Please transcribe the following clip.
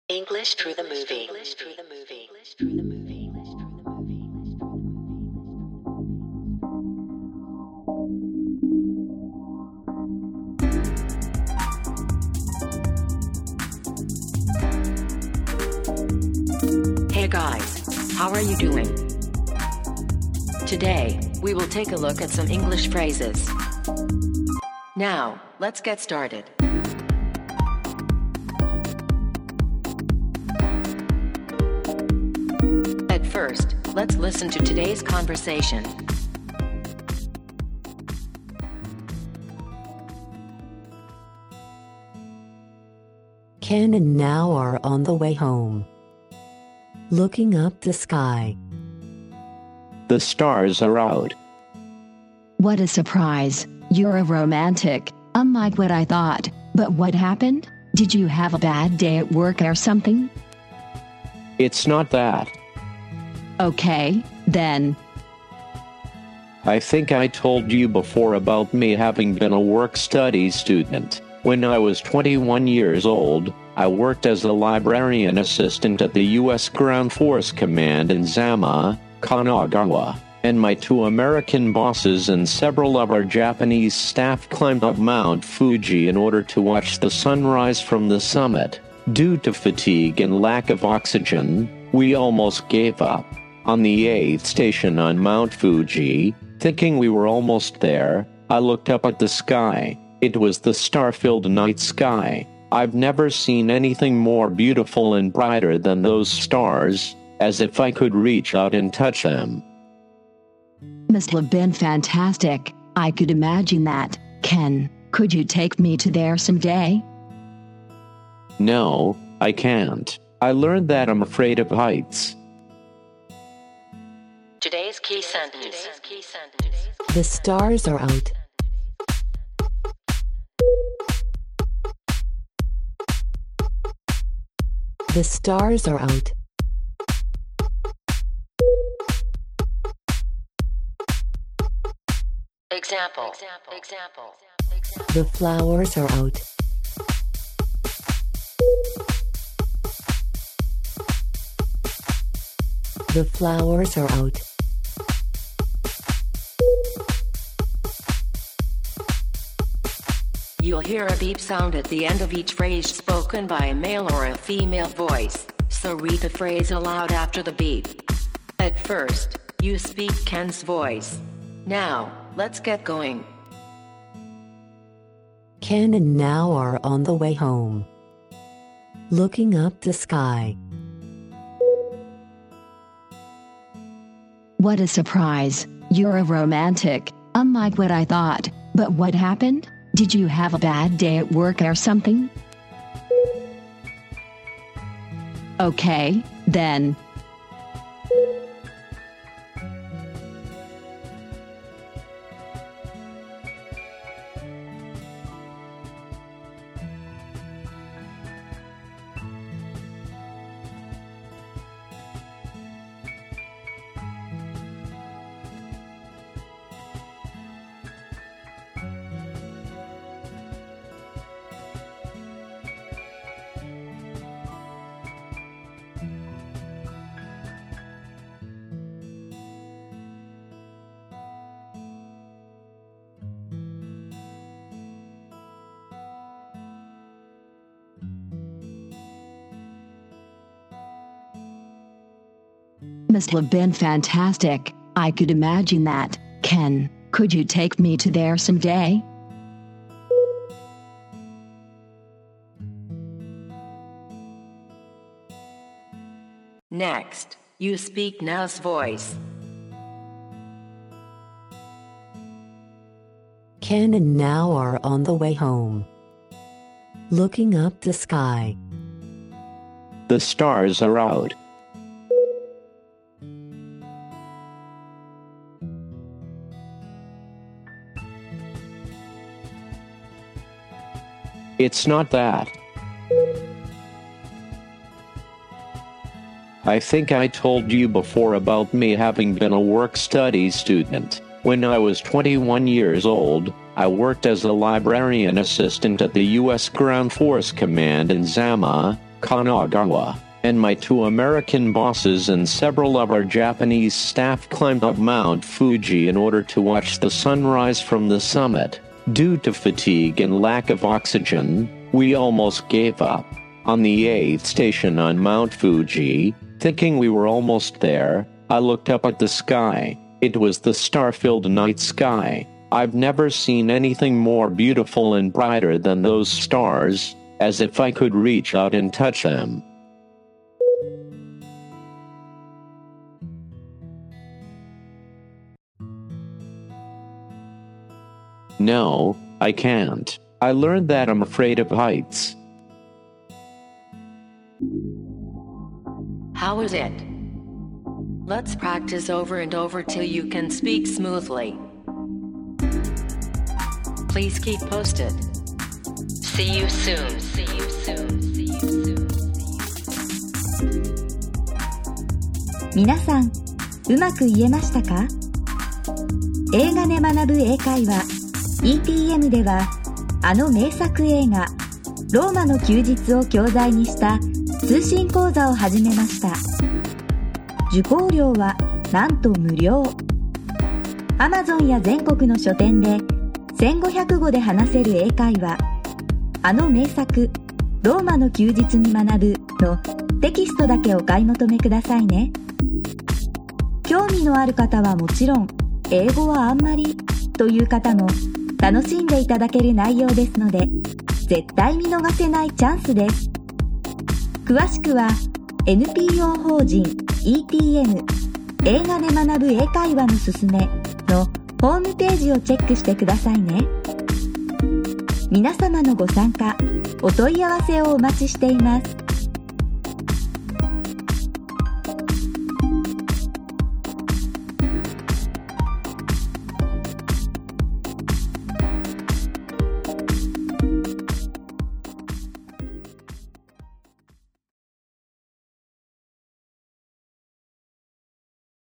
English through the movie. Hey guys, how are you doing? Today, we will take a look at some English phrases. Now, let's get started. At first, let's listen to today's conversation. Ken and Now are on the way home. Looking up the sky. The stars are out. What a surprise. You're a romantic, unlike what I thought. But what happened? Did you have a bad day at work or something? It's not that. Okay, then. I think I told you before about me having been a work-study student. When I was 21 years old, I worked as a librarian assistant at the U.S. Ground Force Command in Zama, Kanagawa, and my two American bosses and several of our Japanese staff climbed up Mount Fuji in order to watch the sunrise from the summit. Due to fatigue and lack of oxygen, we almost gave up. On the 8th station on Mount Fuji, thinking we were almost there, I looked up at the sky. It was the star-filled night sky. I've never seen anything more beautiful and brighter than those stars, as if I could reach out and touch them. Must have been fantastic. I could imagine that. Ken, could you take me to there someday? No, I can't. I learned that I'm afraid of heights. Today's key sentence. The stars are out. The stars are out. Example. The flowers are out. The flowers are out. You'll hear a beep sound at the end of each phrase spoken by a male or a female voice, so read the phrase aloud after the beep. At first, you speak Ken's voice. Now, let's get going. Ken and Now are on the way home. Looking up the sky. What a surprise. You're a romantic, unlike what I thought. But what happened? Did you have a bad day at work or something? Okay, then. Must have been fantastic. I could imagine that. Ken, could you take me to there someday? Next, you speak Now's voice. Ken and Now are on the way home. Looking up the sky. The stars are out. It's not that. I think I told you before about me having been a work-study student. When I was 21 years old, I worked as a librarian assistant at the U.S. Ground Force Command in Zama, Kanagawa, and my 2 American bosses and several of our Japanese staff climbed up Mount Fuji in order to watch the sunrise from the summit. Due to fatigue and lack of oxygen, we almost gave up. On the 8th station on Mount Fuji, thinking we were almost there, I looked up at the sky. It was the star-filled night sky. I've never seen anything more beautiful and brighter than those stars, as if I could reach out and touch them. No, I can't. I learned that I'm afraid of heights. How is it? Let's practice over and over till you can speak smoothly. Please keep posted. See you soon. See you soon. See you soon. 皆さん、うまく言えましたか？映画で学ぶ英会話 ETM では、あの名作映画ローマの休日を教材にした通信講座を始めました。受講料はなんと無料。 Amazon や全国の書店で1500語で話せる英会話、あの名作ローマの休日に学ぶのテキストだけお買い求めくださいね。興味のある方はもちろん、英語はあんまりという方も楽しんでいただける内容ですので、絶対見逃せないチャンスです。詳しくは NPO 法人 ETM 映画で学ぶ英会話のすすめのホームページをチェックしてくださいね。皆様のご参加、お問い合わせをお待ちしています。